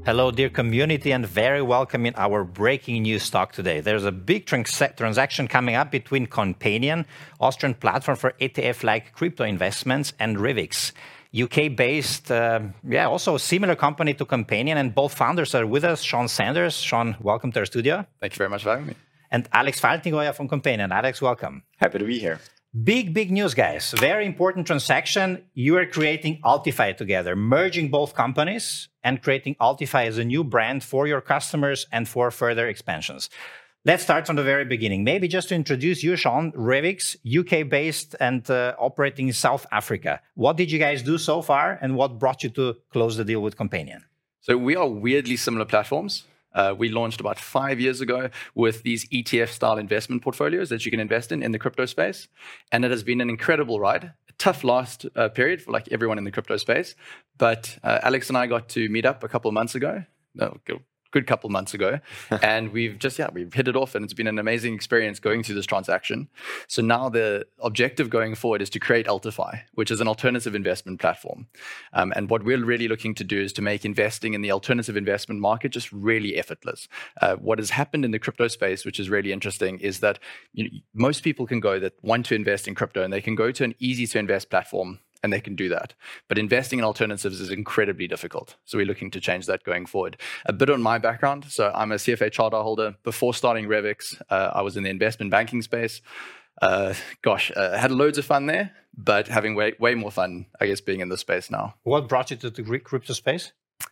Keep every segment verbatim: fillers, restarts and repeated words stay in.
Hello, dear community, and very welcome in our breaking news talk today. There's a big trans transaction coming up between Companion, Austrian platform for E T F-like crypto investments, and Revix, U K-based, uh, yeah, also a similar company to Companion, and both founders are with us. Sean Sanders. Sean, welcome to our studio. Thank you very much for having me. And Alex Faltnigoya from Companion. Alex, welcome. Happy to be here. Big, big news, guys. Very important transaction. You are creating Altify together, merging both companies and creating Altify as a new brand for your customers and for further expansions. Let's start from the very beginning. Maybe just to introduce you, Sean, Revix, U K-based and uh, operating in South Africa. What did you guys do so far, and what brought you to close the deal with Companion? So we are weirdly similar platforms. Uh, we launched about five years ago with these E T F-style investment portfolios that you can invest in in the crypto space. And it has been an incredible ride, a tough last uh, period for like everyone in the crypto space. But uh, Alex and I got to meet up a couple of months ago. No, good couple of months ago. And we've just, yeah, we've hit it off, and it's been an amazing experience going through this transaction. So now the objective going forward is to create Altify, which is an alternative investment platform. Um, and what we're really looking to do is to make investing in the alternative investment market just really effortless. Uh, what has happened in the crypto space, which is really interesting, is that you know, most people can go that want to invest in crypto, and they can go to an easy to invest platform and they can do that. But investing in alternatives is incredibly difficult. So we're looking to change that going forward. A bit on my background. So I'm a C F A charter holder. Before starting Revix, uh, I was in the investment banking space. Uh, gosh, uh, had loads of fun there, but having way, way more fun, I guess, being in this space now. What brought you to the Greek crypto space?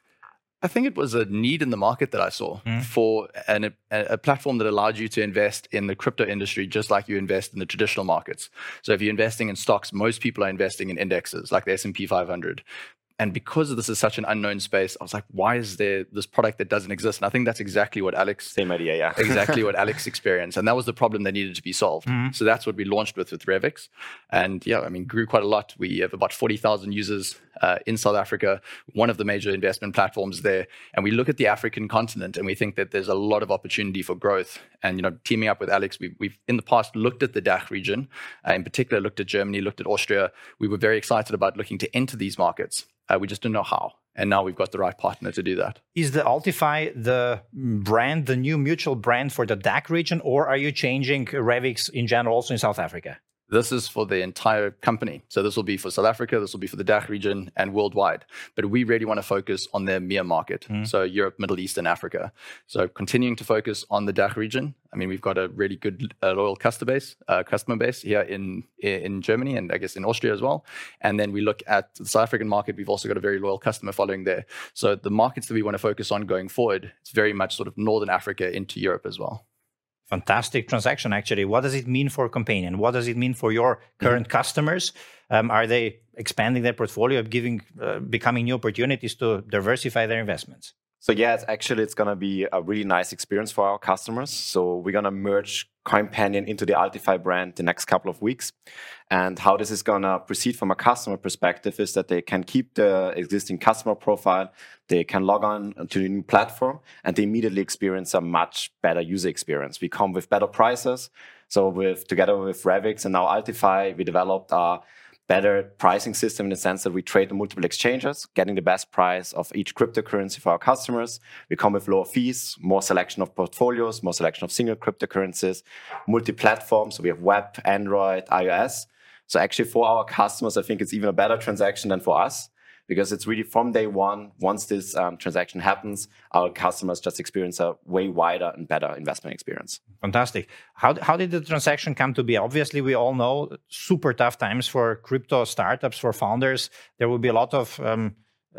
I think it was a need in the market that I saw mm. for an, a, a platform that allowed you to invest in the crypto industry just like you invest in the traditional markets. So if you're investing in stocks, most people are investing in indexes like the S and P five hundred. And because this is such an unknown space, I was like, why is there this product that doesn't exist? And I think that's exactly what Alex... Same idea, yeah. exactly what Alex experienced. And that was the problem that needed to be solved. Mm-hmm. So that's what we launched with with Revix. And yeah, I mean, grew quite a lot. We have about forty thousand users uh, in South Africa, one of the major investment platforms there. And we look at the African continent and we think that there's a lot of opportunity for growth. And, you know, teaming up with Alex, we've, we've in the past looked at the D A C H region, uh, in particular looked at Germany, looked at Austria. We were very excited about looking to enter these markets. Uh, we just didn't know how. And now we've got the right partner to do that. Is the Altify the brand, the new mutual brand for the D A C H region, or are you changing Revix in general also in South Africa? This is for the entire company. So this will be for South Africa, this will be for the D A C H region and worldwide. But we really want to focus on the E M E A market. Mm. So Europe, Middle East, and Africa. So continuing to focus on the D A C H region. I mean, we've got a really good uh, loyal customer base, uh, customer base here in, in Germany and I guess in Austria as well. And then we look at the South African market. We've also got a very loyal customer following there. So the markets that we want to focus on going forward, it's very much sort of Northern Africa into Europe as well. Fantastic transaction, actually. What does it mean for Companion? What does it mean for your current mm-hmm. customers? Um, are they expanding their portfolio, giving, uh, becoming new opportunities to diversify their investments? So yeah, it's actually, it's going to be a really nice experience for our customers. So we're going to merge Companion into the Altify brand the next couple of weeks. And how this is going to proceed from a customer perspective is that they can keep the existing customer profile, they can log on to the new platform, and they immediately experience a much better user experience. We come with better prices. So with together with Revix and now Altify, we developed a better pricing system in the sense that we trade on multiple exchanges, getting the best price of each cryptocurrency for our customers. We come with lower fees, more selection of portfolios, more selection of single cryptocurrencies, multi-platform. So we have web, Android, iOS. So actually for our customers, I think it's even a better transaction than for us, because it's really from day one, once this um, transaction happens, our customers just experience a way wider and better investment experience. Fantastic. How, how did the transaction come to be? Obviously, we all know super tough times for crypto startups, for founders. There will be a lot of um,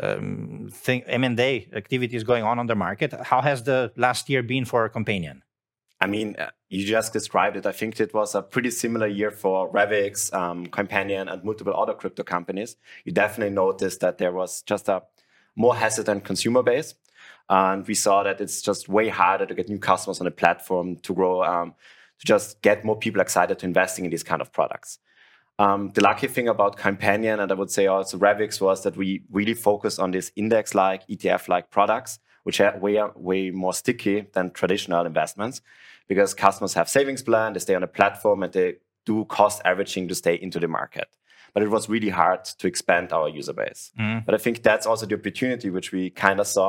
um, thing, M and A activities going on on the market. How has the last year been for Companion? I mean, you just described it. I think it was a pretty similar year for Revix, um, Companion, and multiple other crypto companies. You definitely noticed that there was just a more hesitant consumer base. And we saw that it's just way harder to get new customers on the platform, to grow, um, to just get more people excited to investing in these kind of products. Um, the lucky thing about Companion, and I would say also Revix, was that we really focused on these index-like, E T F-like products, which are way, way more sticky than traditional investments, because customers have savings plan, they stay on the platform, and they do cost averaging to stay into the market. But it was really hard to expand our user base. Mm. But I think that's also the opportunity which we kind of saw,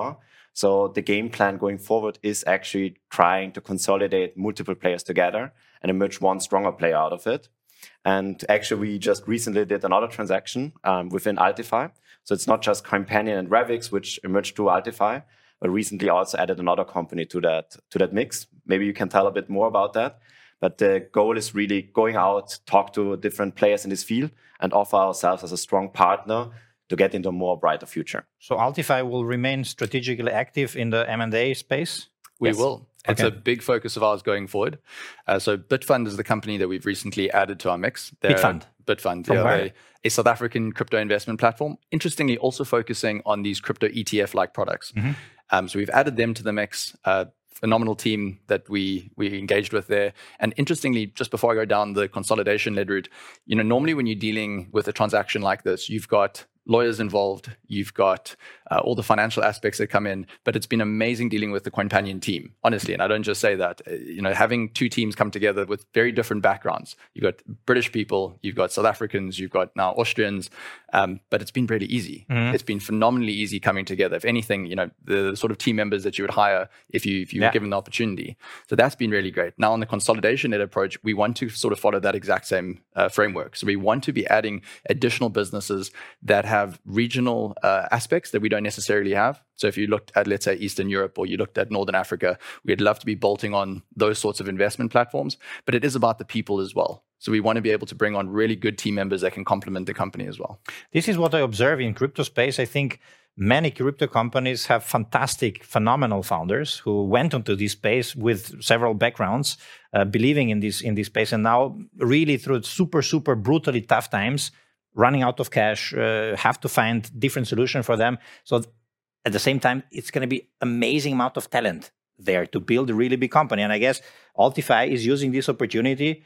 So the game plan going forward is actually trying to consolidate multiple players together and emerge one stronger player out of it. And actually, we just recently did another transaction um, within Altify. So it's not just Coinpanion and Revix, which emerged through Altify, but recently also added another company to that to that mix. Maybe you can tell a bit more about that. But the goal is really going out, talk to different players in this field, and offer ourselves as a strong partner to get into a more brighter future. So Altify will remain strategically active in the M and A space? We Yes. will. It's Okay. a big focus of ours going forward. Uh, so Bitfund is the company that we've recently added to our mix. They're- Bitfund? Bitfund, From yeah, where? they- a South African crypto investment platform. Interestingly, also focusing on these crypto E T F-like products. Mhm. Um, so we've added them to the mix. Uh, phenomenal team that we we engaged with there. And interestingly, just before I go down the consolidation-led route, you know, normally when you're dealing with a transaction like this, you've got lawyers involved, you've got uh, all the financial aspects that come in, but it's been amazing dealing with the Coinpanion team, honestly. And I don't just say that, uh, you know, having two teams come together with very different backgrounds. You've got British people, you've got South Africans, you've got now Austrians, um, but it's been really easy. Mhm. It's been phenomenally easy coming together. If anything, you know, the sort of team members that you would hire if you if you Yeah. were given the opportunity. So that's been really great. Now on the consolidation-led approach, we want to sort of follow that exact same uh, framework. So we want to be adding additional businesses that have regional uh, aspects that we don't necessarily have. So if you looked at, let's say, Eastern Europe, or you looked at Northern Africa, we'd love to be bolting on those sorts of investment platforms, but it is about the people as well. So we want to be able to bring on really good team members that can complement the company as well. This is what I observe in crypto space. I think many crypto companies have fantastic, phenomenal founders who went into this space with several backgrounds, uh, believing in this in this space, and now really through super, super brutally tough times, running out of cash, uh, have to find different solution for them. So at the same time, it's going to be amazing amount of talent there to build a really big company. And I guess Altify is using this opportunity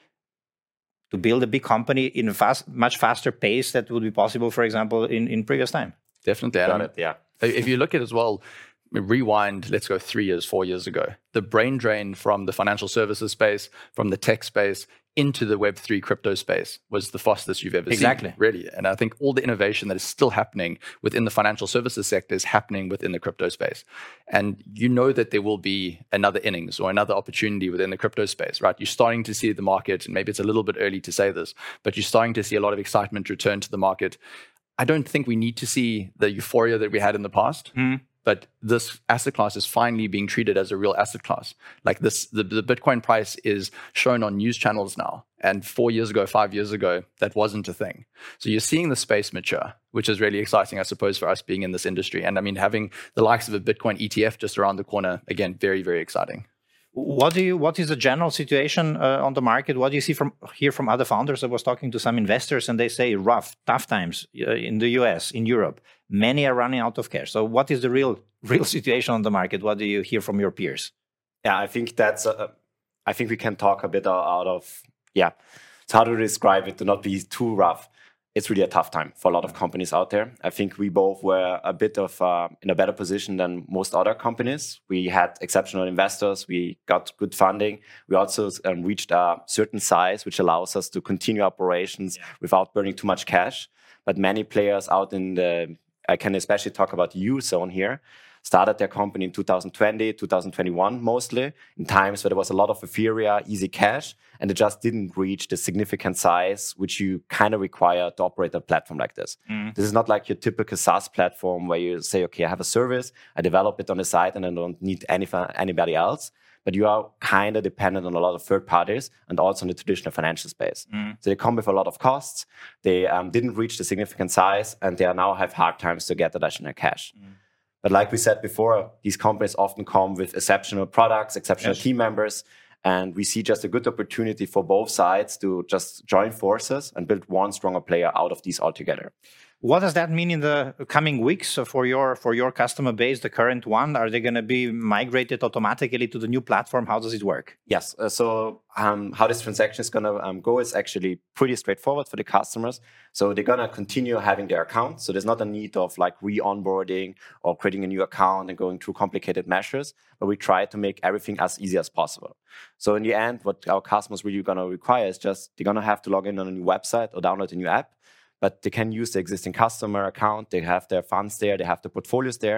to build a big company in a fast, much faster pace that would be possible, for example, in, in previous time. Definitely. Got And it, yeah. if you look at as well, rewind, let's go three years, four years ago, the brain drain from the financial services space, from the tech space into the Web three crypto space was the fastest you've ever Exactly. seen. Really. And I think all the innovation that is still happening within the financial services sector is happening within the crypto space. And you know that there will be another innings or another opportunity within the crypto space, right? You're starting to see the market, and maybe it's a little bit early to say this, but you're starting to see a lot of excitement return to the market. I don't think we need to see the euphoria that we had in the past. Mm. But this asset class is finally being treated as a real asset class. Like this, the, the Bitcoin price is shown on news channels now. And four years ago, five years ago, that wasn't a thing. So you're seeing the space mature, which is really exciting, I suppose, for us being in this industry. And I mean, having the likes of a Bitcoin E T F just around the corner, again, very, very exciting. What do you? What is the general situation uh, on the market? What do you see from hear from other founders? I was talking to some investors, and they say rough, tough times uh, in the U S, in Europe. Many are running out of cash. So, what is the real, real situation on the market? What do you hear from your peers? Yeah, I think that's. Uh, I think we can talk a bit out of. Yeah, it's how to describe it to not be too rough. It's really a tough time for a lot of companies out there. I think we both were a bit of uh, in a better position than most other companies. We had exceptional investors. We got good funding. We also um, reached a certain size, which allows us to continue operations without burning too much cash. But many players out in the, I can especially talk about Eurozone here, started their company in two thousand twenty, two thousand twenty-one mostly, in times where there was a lot of euphoria, easy cash, and it just didn't reach the significant size which you kind of require to operate a platform like this. Mm. This is not like your typical SaaS platform where you say, okay, I have a service, I develop it on the side and I don't need any, anybody else. But you are kind of dependent on a lot of third parties and also on the traditional financial space. Mm. So they come with a lot of costs. They um, didn't reach the significant size, and they now have hard times to get additional cash. Mm. But like we said before, these companies often come with exceptional products, exceptional yes. team members, and we see just a good opportunity for both sides to just join forces and build one stronger player out of these altogether. What does that mean in the coming weeks for your for your customer base, the current one? Are they going to be migrated automatically to the new platform? How does it work? Yes. Uh, so um, how this transaction is going to um, go is actually pretty straightforward for the customers. So they're going to continue having their account. So there's not a need of like re-onboarding or creating a new account and going through complicated measures, but we try to make everything as easy as possible. So in the end, what our customers really going to require is just they're going to have to log in on a new website or download a new app. But they can use the existing customer account. They have their funds there. They have the portfolios there.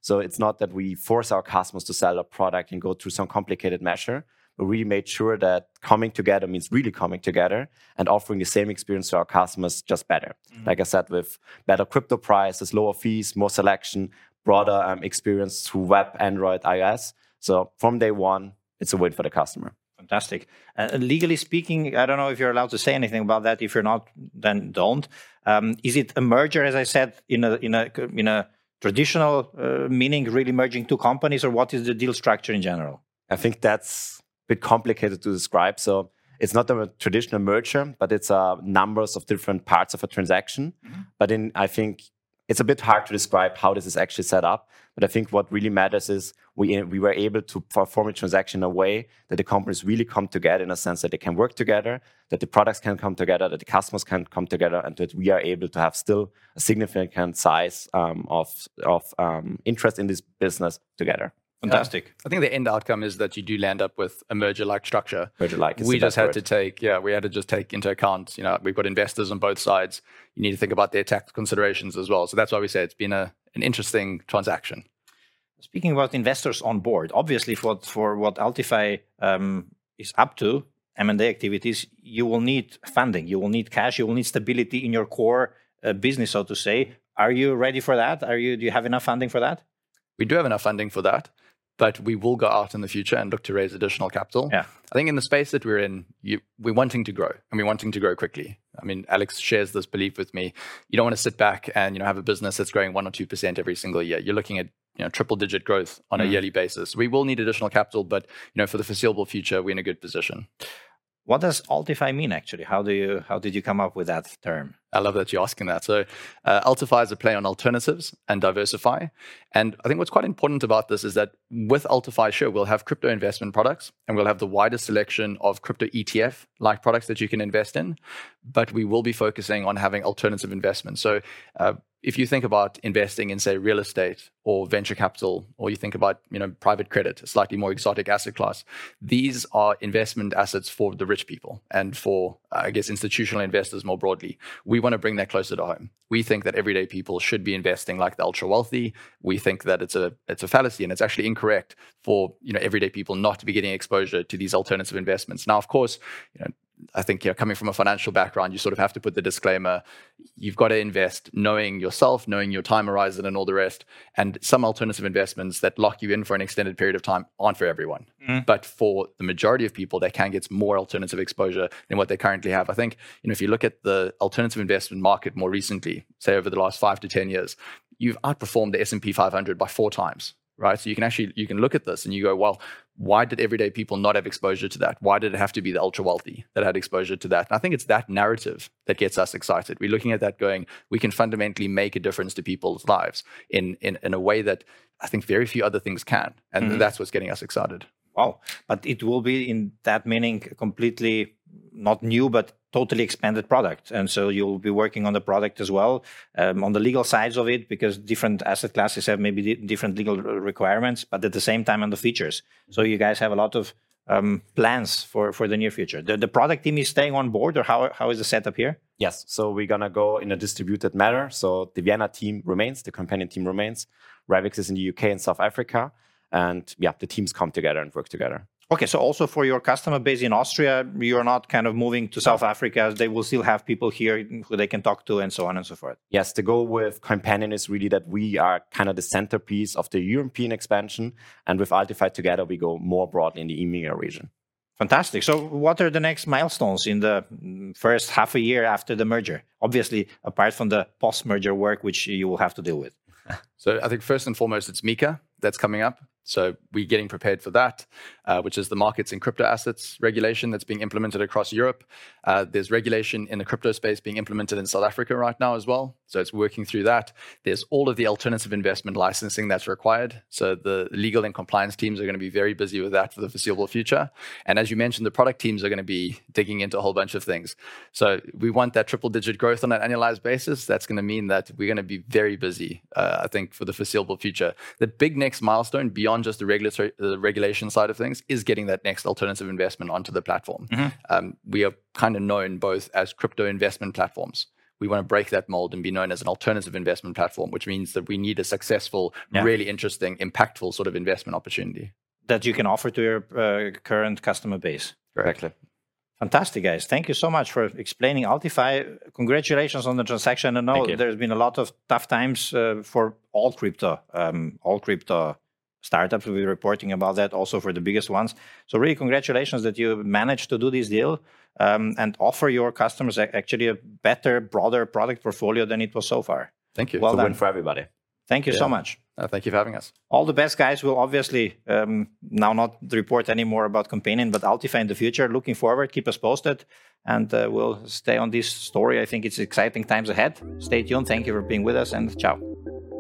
So it's not that we force our customers to sell a product and go through some complicated measure. We really made sure that coming together means really coming together and offering the same experience to our customers, just better. Mm-hmm. Like I said, with better crypto prices, lower fees, more selection, broader um, experience through web, Android, iOS. So from day one, it's a win for the customer. Fantastic. Uh, legally speaking, I don't know if you're allowed to say anything about that. If you're not, then don't. Um, is it a merger, as I said, in a in a in a traditional uh, meaning, really merging two companies, or what is the deal structure in general? I think that's a bit complicated to describe. So it's not a traditional merger, but it's uh, numbers of different parts of a transaction. Mm-hmm. But in I think it's a bit hard to describe how this is actually set up. But I think what really matters is we we were able to perform a transaction in a way that the companies really come together, in a sense that they can work together, that the products can come together, that the customers can come together, and that we are able to have still a significant size um, of, of um, interest in this business together. Fantastic. Yeah. I think the end outcome is that you do land up with a merger-like structure. Merger-like. We just had word. to take, yeah, we had to just take into account, you know, we've got investors on both sides. You need to think about their tax considerations as well. So that's why we say it's been a, an interesting transaction. Speaking about investors on board, obviously for, for what Altify um, is up to, M and A activities, you will need funding, you will need cash, you will need stability in your core uh, business, so to say. Are you ready for that? Are you? Do you have enough funding for that? We do have enough funding for that, but we will go out in the future and look to raise additional capital. Yeah. I think in the space that we're in, you, we're wanting to grow, and we're wanting to grow quickly. I mean, Alex shares this belief with me. You don't want to sit back and you know have a business that's growing one or two percent every single year. You're looking at you know triple-digit growth on mm. a yearly basis. We will need additional capital, but you know for the foreseeable future, we're in a good position. What does Altify mean actually? How do you how did you come up with that term? I love that you're asking that. So uh, Altify is a play on alternatives and diversify. And I think what's quite important about this is that with Altify, sure, we'll have crypto investment products and we'll have the widest selection of crypto E T F-like products that you can invest in, but we will be focusing on having alternative investments. So uh, if you think about investing in, say, real estate or venture capital, or you think about, you know, private credit, a slightly more exotic asset class, these are investment assets for the rich people and for, I guess, institutional investors more broadly. We want to bring that closer to home. We think that everyday people should be investing like the ultra wealthy. We think that it's a it's a fallacy and it's actually incorrect for, you know, everyday people not to be getting exposure to these alternative investments. Now, of course, you know, I think, you know, coming from a financial background, you sort of have to put the disclaimer, you've got to invest knowing yourself, knowing your time horizon and all the rest. And some alternative investments that lock you in for an extended period of time aren't for everyone. Mm. But for the majority of people, they can get more alternative exposure than what they currently have. I think, you know, if you look at the alternative investment market more recently, say over the last five to ten years, you've outperformed the S and P five hundred by four times. Right. So you can actually, you can look at this and you go, well, why did everyday people not have exposure to that? Why did it have to be the ultra wealthy that had exposure to that? And I think it's that narrative that gets us excited. We're looking at that going, we can fundamentally make a difference to people's lives in, in, in a way that I think very few other things can. And mm-hmm. that's what's getting us excited. Wow. But it will be in that meaning completely not new, but totally expanded product. And so you'll be working on the product as well, um, on the legal sides of it, because different asset classes have maybe di- different legal requirements, but at the same time on the features. So you guys have a lot of um, plans for, for the near future. The, the product team is staying on board, or how how is the setup here? Yes. So we're going to go in a distributed manner. So the Vienna team remains, the companion team remains. Ravix is in the U K and South Africa. And yeah, the teams come together and work together. Okay, so also for your customer base in Austria, you're not kind of moving to South Africa. They will still have people here who they can talk to and so on and so forth. Yes, the goal with Companion is really that we are kind of the centerpiece of the European expansion. And with Altify together, we go more broadly in the E M E A region. Fantastic. So what are the next milestones in the first half a year after the merger? Obviously, apart from the post-merger work, which you will have to deal with. So I think first and foremost, it's MiCA that's coming up. So we're getting prepared for that, uh, which is the markets in crypto assets regulation that's being implemented across Europe. Uh, there's regulation in the crypto space being implemented in South Africa right now as well. So it's working through that. There's all of the alternative investment licensing that's required. So the legal and compliance teams are going to be very busy with that for the foreseeable future. And as you mentioned, the product teams are going to be digging into a whole bunch of things. So we want that triple digit growth on an annualized basis. That's going to mean that we're going to be very busy, uh, I think, for the foreseeable future. The big next milestone beyond just the regulatory, the regulation side of things is getting that next alternative investment onto the platform. Mm-hmm. Um, we are kind of known both as crypto investment platforms. we want to break that mold and be known as an alternative investment platform, which means that we need a successful, Yeah. really interesting, impactful sort of investment opportunity that you can offer to your uh, current customer base. Correctly. Fantastic, guys. Thank you so much for explaining Altify. Congratulations on the transaction. I know there's been a lot of tough times uh, for all crypto, um, all crypto startups. We'll be reporting about that also for the biggest ones. So really congratulations that you managed to do this deal um, and offer your customers actually a better, broader product portfolio than it was so far. Thank you. Well It's a done. win for everybody. Thank you Yeah. so much. Uh, thank you for having us. All the best, guys. We'll obviously um, now not report any more about Companion, but Altify in the future. Looking forward. Keep us posted. And uh, we'll stay on this story. I think it's exciting times ahead. Stay tuned. Thank you for being with us, and ciao.